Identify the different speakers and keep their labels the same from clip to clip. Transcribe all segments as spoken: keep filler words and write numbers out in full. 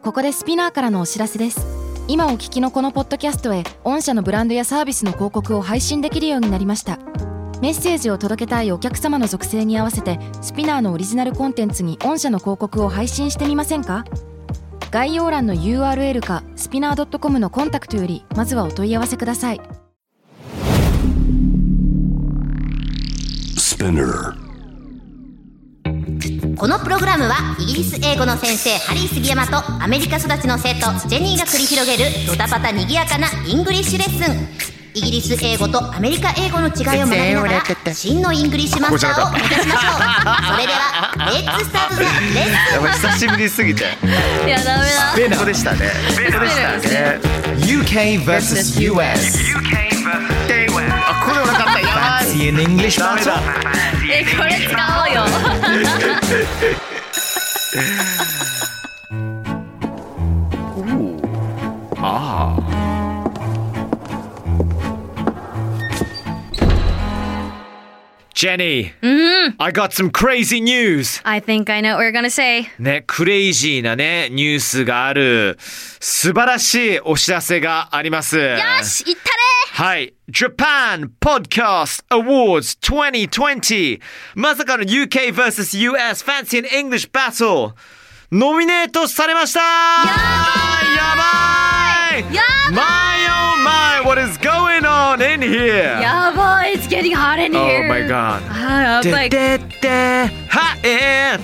Speaker 1: ここでスピナーからのお知らせです。今お聞きのこのポッドキャストへ御社のブランドやサービスの広告を配信できるようになりました。メッセージを届けたいお客様の属性に合わせてスピナーのオリジナルコンテンツに御社の広告を配信してみませんか？概要欄の ユーアールエル かスピナー ドットコム のコンタクトよりまずはお問い合わせください。
Speaker 2: このプログラムはイギリス英語の先生ハリー杉山とアメリカ育ちの生徒ジェニーが繰り広げるドタパタにぎやかなイングリッシュレッスン。イギリス英語とアメリカ英語の違いを学びながら真のイングリッシュマスターを目指しましょう。それではレッツスタートザレッスン。
Speaker 3: 久しぶりすぎて
Speaker 4: いやダメだ。
Speaker 3: スペイン語でしたね。スペイン語でしたね。 ユーケー vs ユーエス
Speaker 5: ユーケー vs テイウェイ。
Speaker 3: あ、これ分かった。やばい。 Fancy in English
Speaker 5: ダメだ。
Speaker 4: え、これ使おうよ。
Speaker 3: ああ。Jenny,
Speaker 4: Mm-hmm.
Speaker 3: I got some crazy news.
Speaker 4: I think I know what we're gonna say.
Speaker 3: ね、クレイジーなね、ニュースがある素晴らしいお知らせがあります。よ
Speaker 4: し、いったね。
Speaker 3: はい。Japan Podcast Awards twenty twenty まさかの ユーケー vs ユーエス Fancy and English Battle ノミネートされました。やばいやばい
Speaker 4: やばい
Speaker 3: My oh my, what is going on in here?
Speaker 4: やばい It's getting hot in here.
Speaker 3: Oh my god.
Speaker 4: あ、やばい。
Speaker 3: ででで Hot in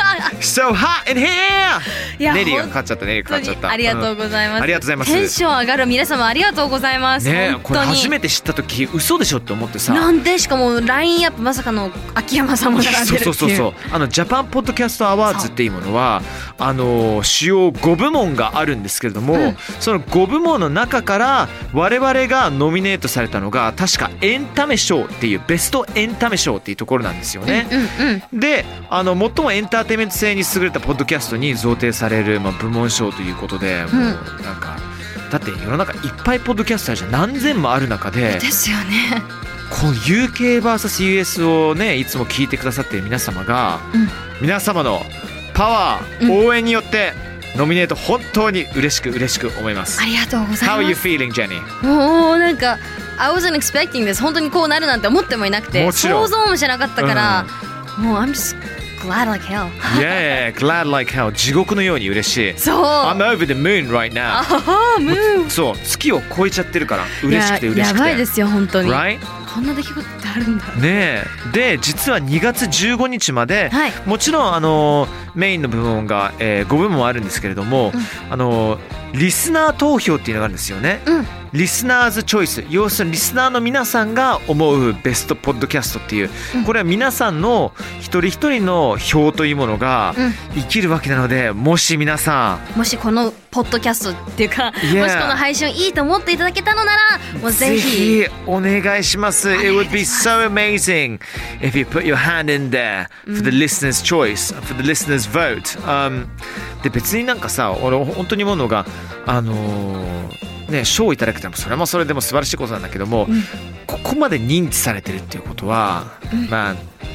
Speaker 3: So hot in here
Speaker 4: いや
Speaker 3: ネリーがかかっちゃったネリーがかかっちゃった。
Speaker 4: ありがとうございます、
Speaker 3: うん、ありがとうございます。
Speaker 4: テンション上がる皆様ありがとうございます。
Speaker 3: ね、
Speaker 4: 本当に
Speaker 3: これ初めて知った時嘘でしょって思ってさ。
Speaker 4: なんでしかもラインアップまさかの秋山さんも並んでるっていう。
Speaker 3: そうそうそうそう。あのジャパンポッドキャストアワーズっていうものはあの主要ご部門があるんですけれども、うん、そのご部門の中から我々がノミネートされたのが確かエンタメ賞っていうベストエンタメ賞っていうところなんですよね。
Speaker 4: うんうんうん、で、
Speaker 3: あの最もエンターテインメント性に優れたポッドキャストに贈呈される、まあ、部門賞ということで、もうなんかだって世の中いっぱいポッドキャストあるじゃん。何千もある中で
Speaker 4: ですよね。
Speaker 3: この ユーケー ブイエス ユーエス をねいつも聞いてくださっている皆様が、うん、皆様のパワー、応援によってノミネート本当に嬉しく嬉しく思います。
Speaker 4: ありがとうございます。
Speaker 3: How are you feeling, Jenny?
Speaker 4: もうなんか I wasn't expecting this 本当にこうなるなんて思ってもいなくて、
Speaker 3: もちろん
Speaker 4: 想像もしなかったから、うん、もう I'm just glad like hell.
Speaker 3: Yeah, glad like hell. 地獄のように嬉しい。
Speaker 4: そう。
Speaker 3: I'm over the moon right now.
Speaker 4: あはムーン。
Speaker 3: そう、月を超えちゃってるから嬉しくて嬉しくて。
Speaker 4: やばいですよ本当に。
Speaker 3: Right?
Speaker 4: こんな出来事ってあるんだ。
Speaker 3: ねえ。で実はにがつじゅうごにちまで、
Speaker 4: はい、
Speaker 3: もちろんあのメインの部門が、えー、ごぶもんあるんですけれども、うん、あのリスナー投票っていうのがあるんですよね。
Speaker 4: うん、
Speaker 3: リスナーズチョイス、要するにリスナーの皆さんが思うベストポッドキャストっていう、うん、これは皆さんの一人一人の票というものが生きるわけなので、もし皆さん
Speaker 4: もしこのポッドキャストっていうか、yeah. もしこの配信をいいと思っていただけたのならもうぜひ
Speaker 3: ぜひお願いします。 It would be so amazing if you put your hand in there for the listener's choice, for the listener's vote、um, で別になんかさ、俺本当に思うのがあのーね、賞をいただけたらそれもそれでも素晴らしいことなんだけども、うん、ここまで認知されてるっていうことは、うん、Man,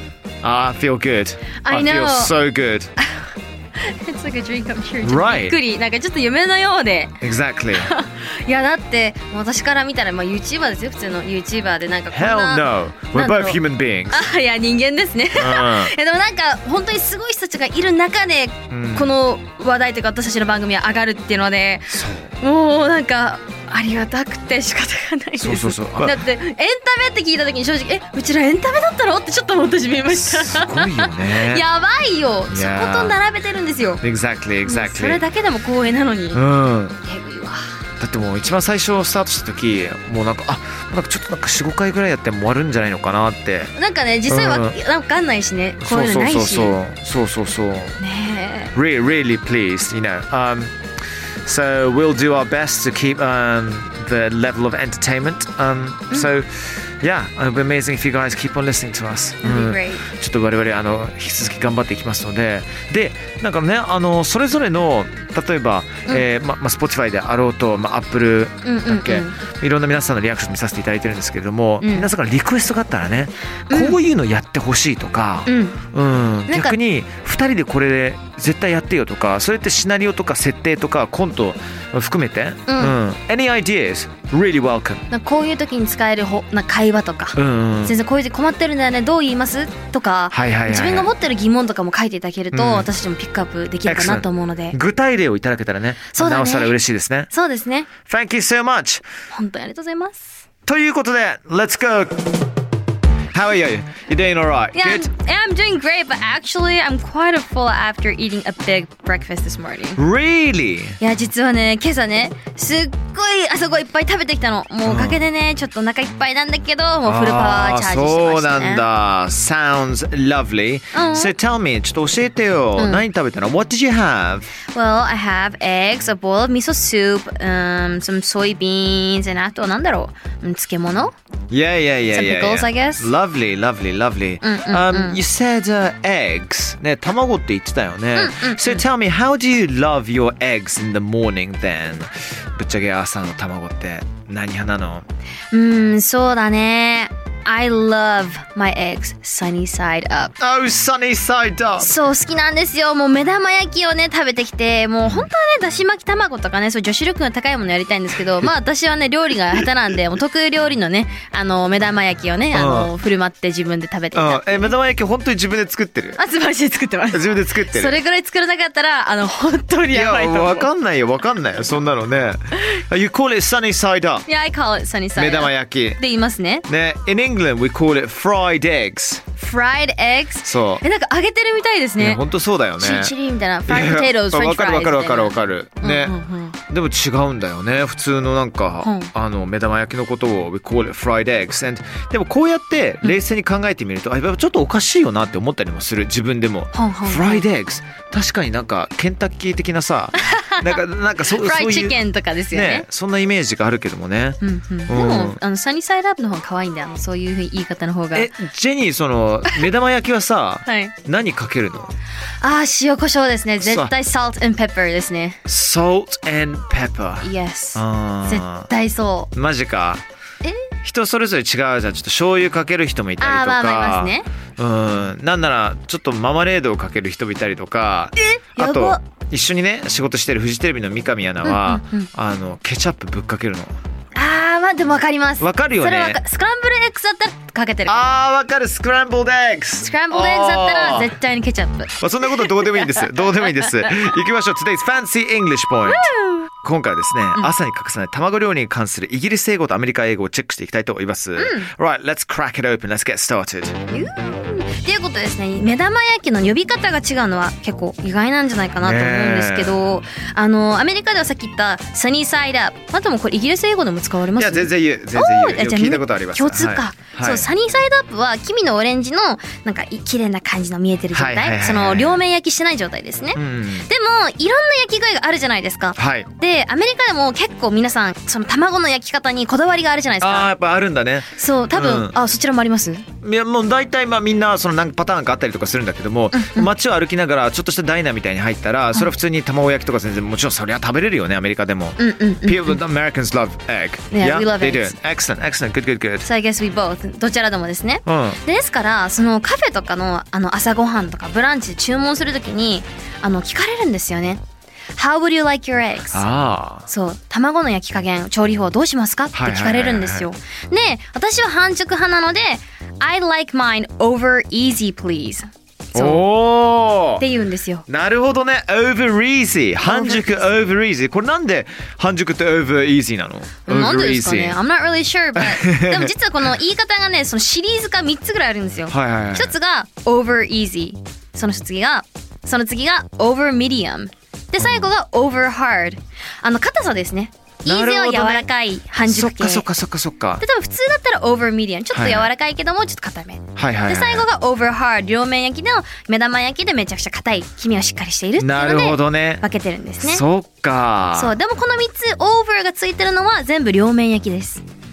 Speaker 3: I feel good.
Speaker 4: I,
Speaker 3: I
Speaker 4: know.
Speaker 3: feel so good.
Speaker 4: It's like a dream come true.
Speaker 3: Right.
Speaker 4: びっくり、なんかちょっと夢のようで。
Speaker 3: Exactly.
Speaker 4: いやだって私から見たらまあ YouTuber ですよ、普通の YouTuber でなんかこんな。
Speaker 3: Hell no. We're both human beings.
Speaker 4: あ、いや人間ですね。うん、いやでもなんか本当にすごい人たちがいる中で、うん、この話題というか私たちの番組は上がるっていうので、もうなんかありがたくて仕方がないです。
Speaker 3: そうそうそう。
Speaker 4: だってエンタメって聞いた時に正直えうちらエンタメだったのってちょっと思ってしまいました。
Speaker 3: すごいよね。
Speaker 4: やばいよ。そこと並べてるんですよ。
Speaker 3: Exactly, exactly.
Speaker 4: それだけでも光栄なのに。
Speaker 3: うん。
Speaker 4: えぐいわ。
Speaker 3: だってもう一番最初スタートした時もうなんかあなんかちょっとなんか よん,ご 回ぐらいやっても終わるんじゃないのかなって。
Speaker 4: なんかね実際は分かんないしね、こういうのないし。
Speaker 3: そうそうそうそうそうそう。
Speaker 4: ねえ。
Speaker 3: Really, really pleased, you know. Um, so we'll do our best to keep um the level of entertainment. Um, so Yeah, it'll be amazing if you guys keep on listening to us.
Speaker 4: That'd be great.
Speaker 3: ちょっと我々あの引き続き頑張っていきますので、でなんかねあのそれぞれの例えば、うんえーままあ Spotify であろうと、まあ Apple だっけ、うんうんうん、いろんな皆さんのリアクション見させていただいてるんですけれども、うん、皆さんからリクエストがあったらね、うん、こういうのやってほしいとか、うんうん、逆にふたりでこれで絶対やってよとか、それってシナリオとか設定とかコント含めて、うんうん、Any ideas? Really welcome.
Speaker 4: なんかこういう時に使えるほな会話とか、うんうん、先生こういう時困ってるんだよねどう言いますとか、はいはいはいはい、自分が持ってる疑問とかも書いていただけると、うん、私たちもピックアップできるかなと思うので、
Speaker 3: 具体例をいただけたらね、そうだね、なおさら嬉しいですね。
Speaker 4: そうですね。
Speaker 3: Thank you so much.
Speaker 4: 本当にありがとうございます。
Speaker 3: ということで Let's go.How are you? You're doing alright?
Speaker 4: Yeah,
Speaker 3: Good?
Speaker 4: I'm, I'm doing great, but actually I'm quite full after eating a big breakfast this morning.
Speaker 3: Really?
Speaker 4: いや、実はね、今朝ね、すっごい朝ごいっぱい食べてきたの。もうおかげでね、ちょっとお腹いっぱいなんだけど、もうフルパワーチャージしてましたね。
Speaker 3: そうなんだ。Sounds lovely. So tell me, ちょっと教えてよ。うん、何食べたの？ What did you have?
Speaker 4: Well, I have eggs, a bowl of miso soup, um, some soybeans, and あとなんだろう、漬物？
Speaker 3: Yeah, yeah, yeah,
Speaker 4: some
Speaker 3: yeah.
Speaker 4: pickles,
Speaker 3: yeah.
Speaker 4: I guess.
Speaker 3: Lovely, lovely, lovely. Um, you said uh, eggs. ね、卵って言ってたよね。So tell me, how do you love your eggs in the morning then? ぶっちゃけ朝の卵って何派なの？
Speaker 4: うん、そうだね。I love my eggs sunny side up.
Speaker 3: Oh, sunny side up.
Speaker 4: そう、好きなんですよ。もう目玉焼きをね、食べてきて、もう本当はね、だし巻き卵とかね、そう女子力の高いものやりたいんですけど、まあ私はね、料理が下手なんで、もう得意料理のね、あの、目玉焼きをね、あの、振る舞って自分で食べていた。
Speaker 3: え、目玉焼き本当に自分で作ってる？
Speaker 4: あ、素晴らしい、作ってます。
Speaker 3: 自分で作ってる。
Speaker 4: それぐらい作らなかったら、あの、本当にやばいと思う。
Speaker 3: いや、わかんないよ、わかんないよ、そんなのね。You call it sunny side up.
Speaker 4: Yeah, I call it sunny side up.
Speaker 3: 目玉焼き。
Speaker 4: で言いますね。
Speaker 3: ね、in England we call it fried eggs.
Speaker 4: Fried eggs?
Speaker 3: そう。
Speaker 4: え、なんか揚げてるみたいですね。
Speaker 3: 本当そうだよね。
Speaker 4: チリみたいな。fried potatoes, french fries.
Speaker 3: わかるわかるわかるわかる。ね、
Speaker 4: うんうんうん。
Speaker 3: でも違うんだよね。普通のなんか、うん、あの目玉焼きのことを we call it fried eggs. And でもこうやって冷静に考えてみると、うん、あ、ちょっとおかしいよなって思ったりもする。自分でも。うんうんうん、fried eggs。確かになんかケンタッキー的なさ、なんかなんかそ
Speaker 4: フライチキンとかですよね。
Speaker 3: ね、そんなイメージがあるけどもね。
Speaker 4: うんうん、でもあのサニーサイドアップの方が可愛いんだよ。そういう言い方の方が。
Speaker 3: え、ジェニーその目玉焼きはさ、
Speaker 4: はい、
Speaker 3: 何かけるの？
Speaker 4: あー、塩コショウですね。絶対 salt and pepper ですね。
Speaker 3: salt and pepper。
Speaker 4: Yes。絶対そう。
Speaker 3: マジか。
Speaker 4: え？
Speaker 3: 人それぞれ違うじゃん。ちょっと醤油かける人もいたりとか。
Speaker 4: あー、まあまあいますね。
Speaker 3: うん、なんならちょっとママレードをかける人もいたりとか。
Speaker 4: え？
Speaker 3: あと一緒にね仕事してるフジテレビの三上アナは、うんうんうん、あのケチャップぶっかけるの。
Speaker 4: あー、まあでもわかります。
Speaker 3: わかるよね。
Speaker 4: それはスクランブルエッグだったらかけてる。
Speaker 3: あー、わかる。スクランブルエッグ。
Speaker 4: スクランブルエッグだったら絶対にケチャップ。ま
Speaker 3: あそんなことどうでもいいんです。どうでもいいです。行きましょう。Today's Fancy English Point。今回はですね、うん、朝に欠かさない卵料理に関するイギリス英語とアメリカ英語をチェックしていきたいと思います。うん、Right, let's crack it open. Let's get started.
Speaker 4: っていうことですね、目玉焼きの呼び方が違うのは結構意外なんじゃないかなと思うんですけど、あのアメリカではさっき言ったサニーサイドアップ、あともこれイギリス英語でも使われます？
Speaker 3: いや全然言う全然言う。聞いたことあります。
Speaker 4: 共通か。はい、そう、サニーサイドアップは黄身のオレンジのなんか綺麗な感じの見えてる状態、はいはいはいはい、その両面焼きしてない状態ですね。うん、でもいろんな焼き具合があるじゃないですか。はい、でアメリカでも結構皆さんその卵の焼き方にこだわりがあるじゃないですか。
Speaker 3: あー、やっぱあるんだね。
Speaker 4: そう多分、うん、あ、そちらもあります？
Speaker 3: いやもう大体まあみんなその何パターンかあったりとかするんだけども、うんうん、街を歩きながらちょっとしたダイナーみたいに入ったら、それは普通に卵焼きとか全然もちろんそりゃ食べれるよね、アメリカでも。うんうんうんうん、People, the Americans love egg.
Speaker 4: Yeah,
Speaker 3: yeah?
Speaker 4: we love
Speaker 3: they
Speaker 4: eggs.
Speaker 3: do. Excellent, excellent, good, good, good.
Speaker 4: So I guess we both. どちらでもですね。うん、ですからそのカフェとかのあの朝ごはんとかブランチで注文するときにあの聞かれるんですよね。How would you like your eggs? あー、そう、卵の焼き加減、調理法どうしますかって聞かれるんですよ。で、私は半熟派なので I like mine over easy please。そうって言うんですよ。
Speaker 3: なるほどね。 over easy 半熟 over easy。 これなんで半熟って over easy なの？
Speaker 4: なんでですかね。 I'm not really sure but でも実はこの言い方がね、そのシリーズがみっつぐらいあるんですよ。はいはいはい、一つが over easy、 その次がその次が over medium で最後が over hard。 あの硬さですね。イーゼーは柔らかい半熟系。
Speaker 3: そっかそっかそっかそっか。
Speaker 4: で多分普通だったら over medium ちょっと柔らかいけどもちょっと硬め、はいはいはい、で最後が over hard 両面焼きの目玉焼きでめちゃくちゃ硬い黄身がしっかりしているっていうので分けてるんですね。
Speaker 3: そっか。
Speaker 4: そうでもこのみっつ over がついてるのは全部両面焼きです。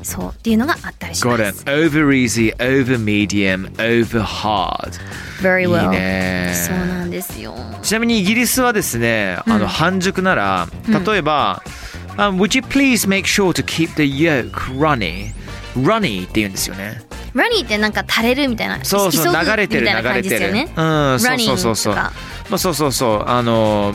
Speaker 4: そうっていうのがあったりしま
Speaker 3: Got
Speaker 4: す
Speaker 3: it. Over easy, over medium, over hard.
Speaker 4: Very well
Speaker 3: いいね。
Speaker 4: そうなんですよ。
Speaker 3: ちなみにイギリスはですね、あの半熟なら、例えば、um, Would you please make sure to keep the yolk runny? Runny って言うんですよね。
Speaker 4: ラニーってなんか垂れるみたいな、
Speaker 3: そうそう、流れてる流れてる。うん、そうそうそうそう。まあそうそうそう、あの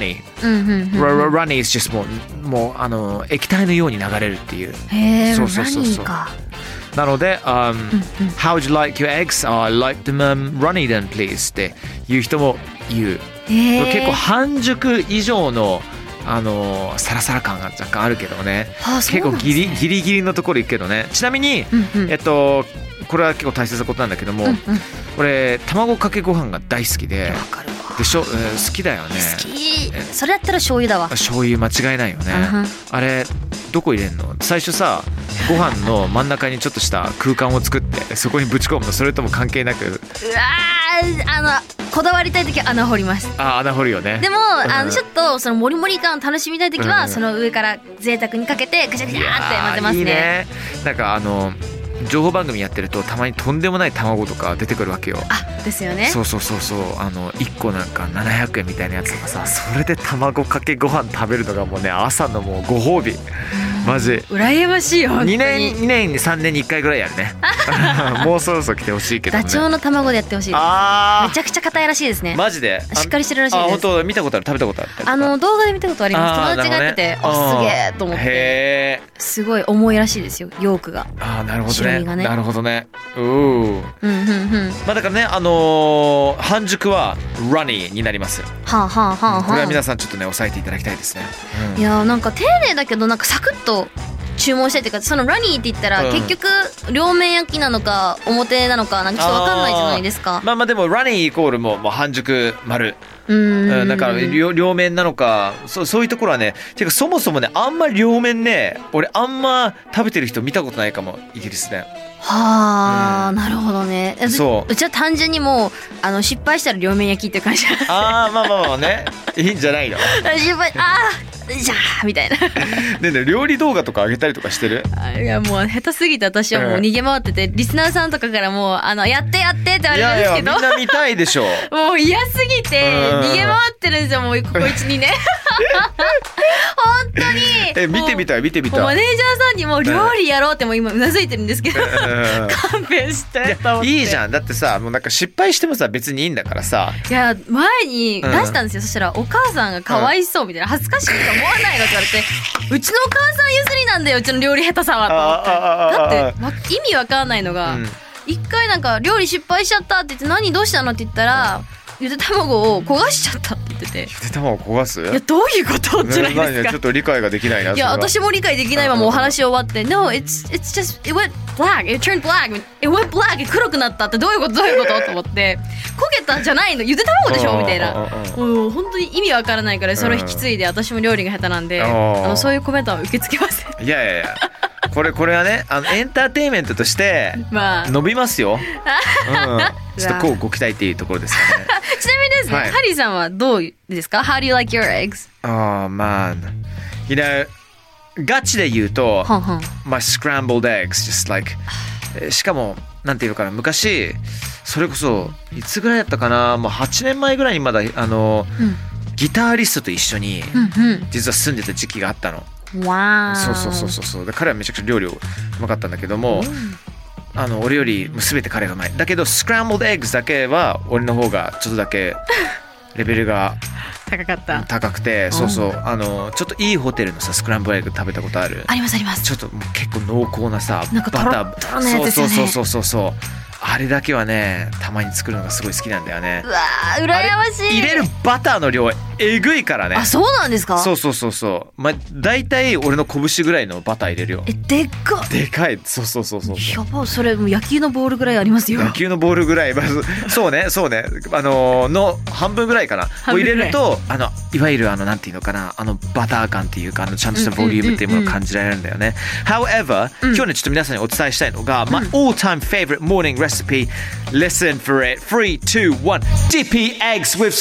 Speaker 3: runny。runny is just もうもうあの液体のように流れるっていう。
Speaker 4: へえ、
Speaker 3: そうそうそうそう。
Speaker 4: ラニーか。
Speaker 3: なので、um, How would you like your eggs? Oh, I like them、um, runny then, please っていう人も言う。結構半熟以上のあのサラサラ感が若干あるけどね。
Speaker 4: ああ、
Speaker 3: 結構ギリギリギリのところ行くけどね。ちなみに、うんうん、えっとこれは結構大切なことなんだけども、うんうん、これ卵かけご飯が大好きで。わかるわ。でしょ、えー、好きだよね。
Speaker 4: 好き。それやったら醤油だわ。
Speaker 3: 醤油間違いないよね。Uh-huh. あれどこ入れんの？最初さ、ご飯の真ん中にちょっとした空間を作ってそこにぶち込むの？それとも関係なく？うわ
Speaker 4: ー、あのこだわりたい時は穴掘ります。
Speaker 3: あ、穴掘るよね。
Speaker 4: でも、うん、あのちょっとそのモリモリ感を楽しみたい時は、うん、その上から贅沢にかけてぐちゃぐちゃって混ぜますね。いいね。なんかあの
Speaker 3: 情報番組やってるとたまにとんでもない卵とか出てくるわけよ。
Speaker 4: あ、ですよね。
Speaker 3: そうそうそうそう、あのいっこなんかななひゃくえんみたいなやつとかさ、それで卵かけご飯食べるのがもうね、朝のもうご褒美。マジ
Speaker 4: 羨ましいよ。
Speaker 3: にねんにねんにさんねんにいっかいぐらいやるね。もうそろそろ来てほしいけどね。
Speaker 4: ダチョウの卵でやってほしいです。あ、めちゃくちゃ硬いらしいですね。
Speaker 3: マジで
Speaker 4: しっかりしてるらしいです。
Speaker 3: あ、本当見たことある、食べたことある。
Speaker 4: あの動画で見たことあります。友達がやってて、あ、すげえと思って。へー、すごい重いらしいですよ、ヨークが。
Speaker 3: あ、なるほどね。ね、なるほどね。うー、うんうんうん。まあだからね、あのー、半熟はラニーになります。
Speaker 4: はあはあはあはあ。
Speaker 3: これは皆さんちょっとね、押さえていただきたいですね。
Speaker 4: うん、いや、なんか丁寧だけどなんかサクッと注文したいっていうか、そのラニーって言ったら、うん、結局両面焼きなのか表なのかなんかちょっと分かんないじゃないですか。
Speaker 3: まあまあでもラニーイコールももう半熟丸。うん、だから 両, 両面なのか、そ う, そういうところはね、てかそもそもね、あんまり両面ね、俺あんま食べてる人見たことないかも、イギリスで。
Speaker 4: はあ、うん、なるほどね。そう、うちは単純にもうあの失敗したら両面焼きっていう感じ。
Speaker 3: ああ、まあまあまあね、いいんじゃないの。
Speaker 4: 失敗、ああじゃあみたいな。
Speaker 3: ねね、料理動画とか上げたりとかしてる？
Speaker 4: いや、もう下手すぎて私はもう逃げ回ってて、うん、リスナーさんとかからもうあのやってやってって言われるんですけど、いやいや、みんな
Speaker 3: 見たいでしょ。
Speaker 4: もう嫌すぎて逃げ回ってるんですよ、もうここ いちにねん。本当に。
Speaker 3: え、見てみたい見てみたい。
Speaker 4: マネージャーさんにも料理やろうっても今うなずいてるんですけど、勘弁してと思って。
Speaker 3: いいじゃん。だってさ、もうなんか失敗してもさ別にいいんだからさ。
Speaker 4: いや、前に出したんですよ、うん、そしたらお母さんがかわいそうみたいな、恥ずかしいと思わないのって言われて、うちのお母さん譲りなんだよ、うちの料理下手さはと思って。だって意味わかんないのが、一、うん、回なんか料理失敗しちゃったって言って、何どうしたのって言ったら、うん、ゆで卵を焦がしちゃったって言ってて。
Speaker 3: ゆで卵を焦がす？
Speaker 4: いや、どういうことじゃないですか。
Speaker 3: ちょっと理解ができないな。
Speaker 4: いや、私も理解できないままお話終わって、No, it's it's just it went black, it turned black, it went black, 黒くなったってどういうことどういうことと思って、焦げたんじゃないの、ゆで卵でしょみたいな。もう本当に意味わからないからそれを引き継いで、私も料理が下手なんで、あのそういうコメントは受け付けません。
Speaker 3: いやいやいや。これこれはね、あのエンターテインメントとして伸びますよ。まあ、うん、ちょっとこうご期待っていうところですかね。
Speaker 4: ちなみにですね、はい、ハリーさんはどうですか？ How do you like your eggs?
Speaker 3: Oh man, you know, ガチで言うと、はんはん、my scrambled eggs, just like しかもなんていうのかな、昔それこそいつぐらいだったかな、もうはちねんまえぐらいにまだあの、うん、ギタリストと一緒に実は住んでた時期があったの。
Speaker 4: わー、
Speaker 3: そうそうそうそうそう。で彼はめちゃくちゃ料理うまかったんだけども、あの俺より全て彼がうまい。だけどスクランブルドエッグスだけは俺の方がちょっとだけレベルが
Speaker 4: 高かった。
Speaker 3: 高くて、そうそう、あのちょっといいホテルのさスクランブルエッグ食べたことある？
Speaker 4: ありますあります。
Speaker 3: ちょっともう結構濃厚なさ、
Speaker 4: なんかバター、トロのやつですよね。
Speaker 3: そうそうそうそうそう。あれだけはね、たまに作るのがすごい好きなんだよね。
Speaker 4: うわー、羨ましい。
Speaker 3: 入れるバターの量えぐいからね。
Speaker 4: あ、そうなんですか？
Speaker 3: そうそうそうそう。まあ大体俺の拳ぐらいのバター入れるよ。
Speaker 4: え、でっか。
Speaker 3: でかい。そうそうそうそう。
Speaker 4: やば、それもう野球のボールぐらいありますよ。
Speaker 3: 野球のボールぐらい、まずそうねそうね、あのー、の半分ぐらいかな。を入れると、あのいわゆるあのなんていうのかな、あのバター感っていうか、あのちゃんとしたボリュームっていうものを感じられるんだよね。However、うん、今日ねちょっと皆さんにお伝えしたいのが、うん、my all time favorite morning recipe. Listen for it. three, two, one. Dippy eggs with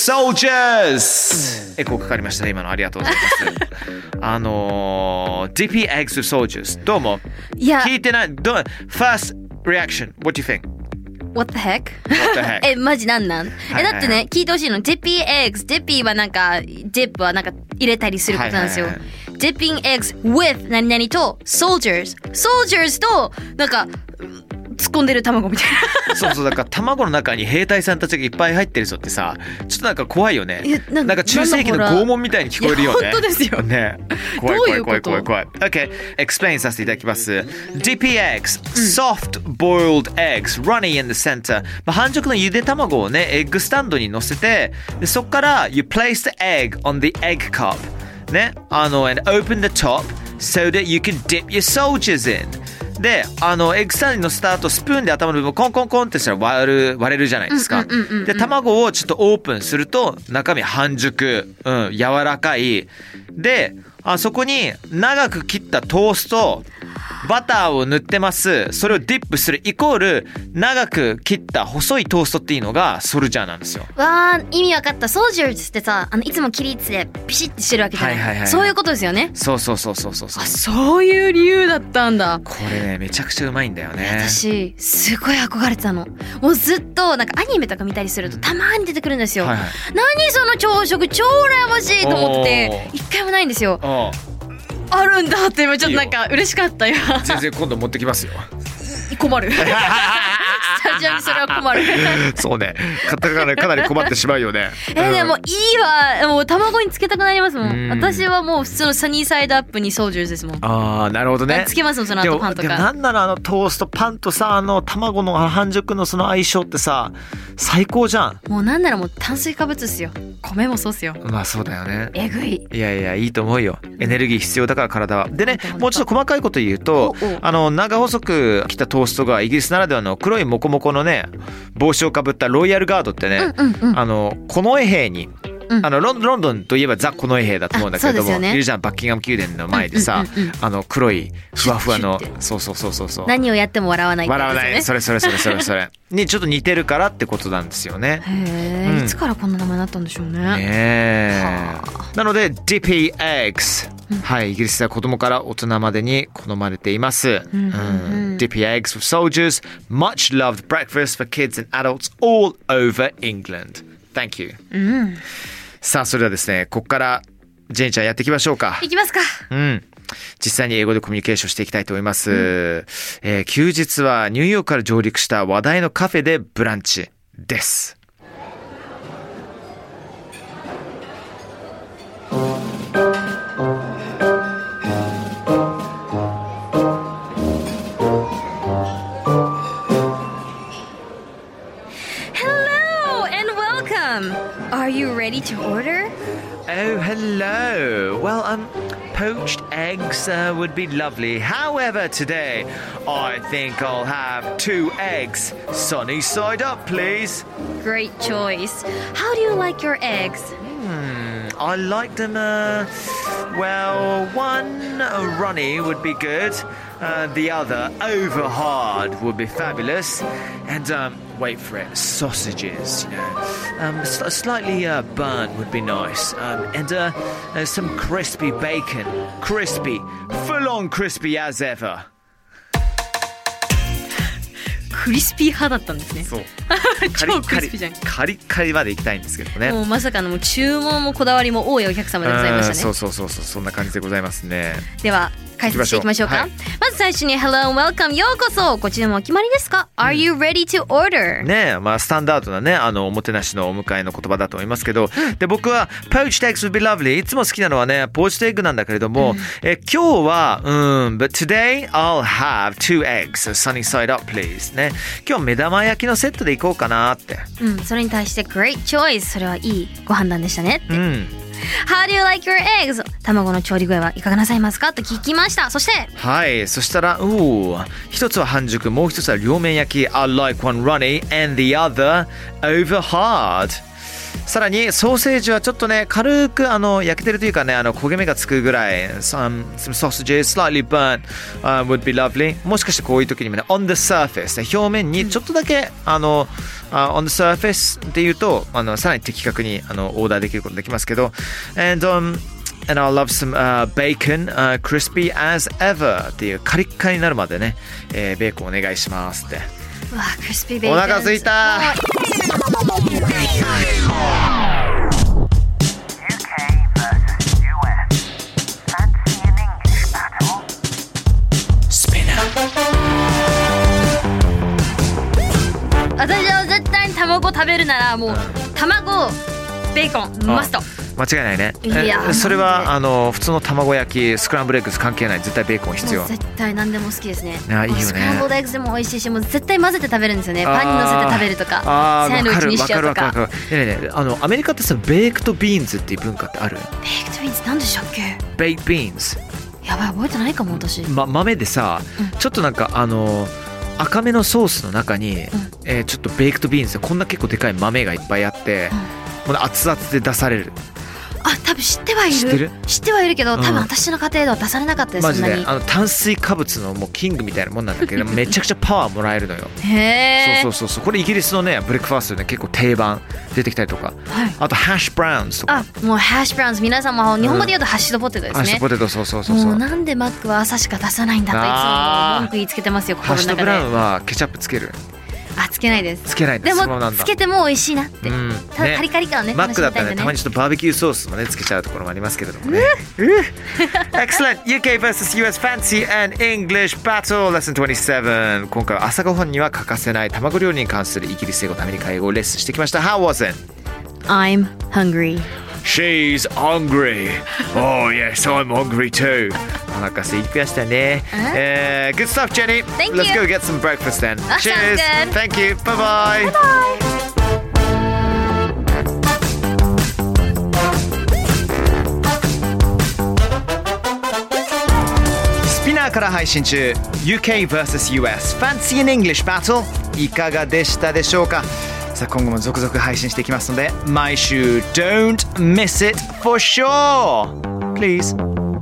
Speaker 3: soldiers! エコーかかりましたね、今の。ありがとうございます。あのー、Dippy eggs with soldiers。どうも。
Speaker 4: いや、
Speaker 3: 聞いてない。どう First reaction. What do you think?What
Speaker 4: What the heck?
Speaker 3: the heck?
Speaker 4: え、マジなんなん、
Speaker 3: はいはいはい、
Speaker 4: え、だってね、聞いてほしいの。Dippy eggs。Dippy はなんか、Dip はなんか入れたりすることなんですよ。
Speaker 3: はいはいはい、
Speaker 4: Dipping eggs with 何々と soldiers。soldiers と、なんか、突っ込んでる卵みたいな。
Speaker 3: そうそう、だから卵の中に兵隊さんたちがいっぱい入ってる人ってさ、ちょっとなんか怖いよね。な, なんか中世紀の拷問みたいに聞こえるよね。
Speaker 4: 本当ですよ。
Speaker 3: ね。怖い怖い怖い怖い怖い。Okay, explain させていただきます。Dippy eggs, soft boiled eggs, runny in the center。まあ、半熟のゆで卵をね、エッグスタンドに乗せて、でそこから you place the egg on the egg cup。ね、あの and open the top so that you can dip your soldiers in。で、あのエッグスタンドに乗せた後スプーンで頭の部分をコンコンコンってしたら割る割れるじゃないですか。で、卵をちょっとオープンすると中身半熟、うん、柔らかい。で、あそこに長く切ったトースト、バターを塗ってます。それをディップするイコール長く切った細いトーストっていうのがソルジャーなんですよ。
Speaker 4: わー、意味わかった。soldiersってさ、あのいつも切りつでピシッてしてるわけじゃない。はいはいはい、そういうことですよね。
Speaker 3: そうそうそうそうそうそう。
Speaker 4: あ、そういう理由だったんだ。
Speaker 3: これね、めちゃくちゃうまいんだよね。
Speaker 4: 私すごい憧れてたの。もうずっとなんかアニメとか見たりするとたまに出てくるんですよ。はいはい、何その朝食超羨ましいと思ってて一回もないんですよ。あるんだって今ちょっとなんか嬉しかったよ。
Speaker 3: 全然今度持ってきますよ。
Speaker 4: 困る。スタジオにそれは困る。
Speaker 3: そうね、買ったからかなり困ってしまうよね。
Speaker 4: えー、でもいいわ。もう卵につけたくなりますもん。ん私はもう普通のサニーサイドアップにソージャーズですもん。
Speaker 3: ああ、なるほどね。
Speaker 4: つけますもん、その後パンとか。
Speaker 3: でもなんならあのトーストパンとさ、あの卵の半熟のその相性ってさ、最高じゃん。
Speaker 4: もうなんならもう炭水化物ですよ。米もそうっすよ。
Speaker 3: まあそうだよね。
Speaker 4: えぐい。
Speaker 3: いやいや、いいと思うよ。エネルギー必要だから体は。でね、もうちょっと細かいこと言うと、あの長細く切ったトーストがイギリスならではの黒いモコモコのね帽子をかぶったロイヤルガードってね、うんうんうん、あの近衛兵に、うん、あのロンロンドンといえばザ近衛兵だと思うんだけれども、ね、いるじゃん、バッキンガム宮殿の前でさ、うんうんうんうん、あの黒いふわふわの、そうそうそうそうそう、
Speaker 4: 何をやっても笑わないってやつですよね。
Speaker 3: 笑わない、それそれそれそれそれにちょっと似てるからってことなんですよね。
Speaker 4: へえ、うん、いつからこんな名前になったんでしょうね。
Speaker 3: ねえ。なので Dippy eggs、うん、はい、イギリスでは子供から大人までに好まれています。うんうんうん、Dippy eggs with soldiers, much loved breakfast for kids and adults all over England. Thank you、うん、さあそれではですね、ここからジェニーちゃんやっていきましょうか。
Speaker 4: いきますか。
Speaker 3: うん。実際に英語でコミュニケーションしていきたいと思います、うん、えー、休日はニューヨークから上陸した話題のカフェでブランチです。
Speaker 4: Are you ready to order?
Speaker 3: Oh, hello. Well, um, poached eggs uh, would be lovely. However, today, I think I'll have two eggs. Sunny side up, please.
Speaker 4: Great choice. How do you like your eggs?
Speaker 3: Hmm, I like them, uh, well, one uh, runny would be good. Uh, the other, over hard, would be fabulous. And, um, wait for it, sausages, you know. Um, sl- slightly uh, burnt would be nice. Um, and uh, uh, some crispy bacon. Crispy. Full-on crispy as ever.
Speaker 4: クリスピー派だったんですね。
Speaker 3: そう
Speaker 4: 超クリスピーじゃん。
Speaker 3: カリッカリまで行きたいんですけどね。
Speaker 4: もうまさかのもう注文もこだわりも多いお客様でございましたね。
Speaker 3: そうそうそうそう、そんな感じでございますね。
Speaker 4: では解説していきましょうか。はい、まず最初に Hello and Welcome ようこそ。こちらもお決まりですか、うん、Are you ready to order?
Speaker 3: ねえ、まあスタンダードなね、あのおもてなしのお迎えの言葉だと思いますけど、うん、で僕は Poached eggs would be lovely。 いつも好きなのはねポーチドエッグなんだけれども、うん、え今日はうん But today I'll have two eggs sunny side up please ね。今日目玉焼きのセットでいこうかなって。
Speaker 4: うん、それに対して Great choice。 それはいいご判断でしたねって。うん。How do you like your eggs? 卵の調理具合はいかがなさいますかと聞きました。そして
Speaker 3: はい、そしたらおー一つは半熟、もう一つは両面焼き。 I like one runny and the other over hard。 さらにソーセージはちょっとね軽くあの焼けてるというかねあの焦げ目がつくぐらい some, some sausages slightly burnt、uh, would be lovely もしかしてこういう時にもね on the surface 表面にちょっとだけ、うん、あの、uh, on the surface っていうとあのさらに的確にあのオーダーできることできますけど and um And I'll love some、uh, bacon、uh, crispy as ever っていうカリッカリになるまでね、えー、ベーコンお願いしますって
Speaker 4: うわクリスピーベーコン
Speaker 3: お腹すいた
Speaker 4: 私は絶対に卵食べるならもう卵ベーコンマスト
Speaker 3: 間違いないね。
Speaker 4: いや
Speaker 3: それはあの普通の卵焼きスクランブルエッグス関係ない絶対ベーコン必要。
Speaker 4: 絶対何でも好きですね。
Speaker 3: あいいよね。
Speaker 4: スクランブルエッグスでも美味しいしもう絶対混ぜて食べるんですよね。パンに乗せて食べるとかサンドイッチにしちゃうとか。
Speaker 3: わかるわかるわかる。ねえねえあのアメリカってさベークトビーンズっていう文化ってある？
Speaker 4: ベークトビーンズ何でしたっけ？
Speaker 3: ベークトビーンズ。
Speaker 4: やばい覚えてないかも私。
Speaker 3: ま豆でさ、うん、ちょっとなんかあの赤めのソースの中に、うんえー、ちょっとベークトビーンズこんな結構でかい豆がいっぱいあって、うん、もう熱々で出される。
Speaker 4: あ多分知ってはいる
Speaker 3: 知ってる
Speaker 4: 知ってはいるけど、うん、多分私の家庭では出されなかったです。
Speaker 3: マジで
Speaker 4: そんなに
Speaker 3: あの炭水化物のもうキングみたいなもんなんだけどめちゃくちゃパワーもらえるのよ。
Speaker 4: へー
Speaker 3: そうそうそうこれイギリスのねブレックファーストで、ね、結構定番出てきたりとか、はい、あとハッシュブラウンズとか。
Speaker 4: あもうハッシュブラウンズ皆さんも日本語で言うとハッシュドポテトですね、うん、
Speaker 3: ハッシュドポテトそうそうそうそう
Speaker 4: もうなんでマックは朝しか出さないんだといつも文句言いつけてますよ心の中で。
Speaker 3: ハッシュドブラウンはケチャップつける？
Speaker 4: あつけないです。
Speaker 3: つけないです。
Speaker 4: でもつけても美味しいなって、うん、ただカリカリ感をね
Speaker 3: マックだったらねたまにちょっとバーベキューソースもねつけちゃうところもありますけれどもね。Excellent! ユーケー vs ユーエス Fancy and English Battle Lesson にじゅうなな今回は朝ごはんには欠かせない卵料理に関するイギリス英語とアメリカ英語をレッスンしてきました。 How was it?
Speaker 4: I'm hungry.
Speaker 3: She's hungry. Oh yes, I'm hungry too. お腹空いてきましたね。Uh, good stuff, Jenny.
Speaker 4: Thank
Speaker 3: Let's
Speaker 4: you.
Speaker 3: go get some breakfast then.
Speaker 4: That
Speaker 3: Cheers.
Speaker 4: sounds good.
Speaker 3: Thank you. Bye bye.
Speaker 4: Bye bye.
Speaker 3: スピナーから配信中 ユーケー vs ユーエス Fancy and English Battle いかがでしたでしょうか。さあ今後も続々配信していきますので毎週 Don't miss it for sure Please。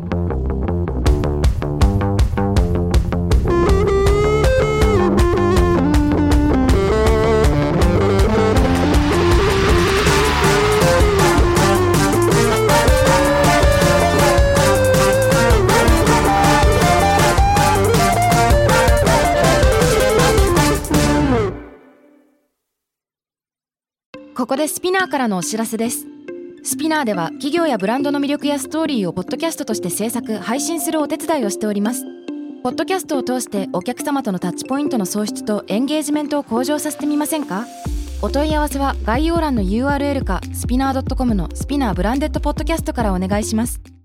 Speaker 1: ここでスピナーからのお知らせです。スピナーでは企業やブランドの魅力やストーリーをポッドキャストとして制作・配信するお手伝いをしております。ポッドキャストを通してお客様とのタッチポイントの創出とエンゲージメントを向上させてみませんか？お問い合わせは概要欄の ユーアールエル かスピナー ドットコム のスピナーブランデッドポッドキャストからお願いします。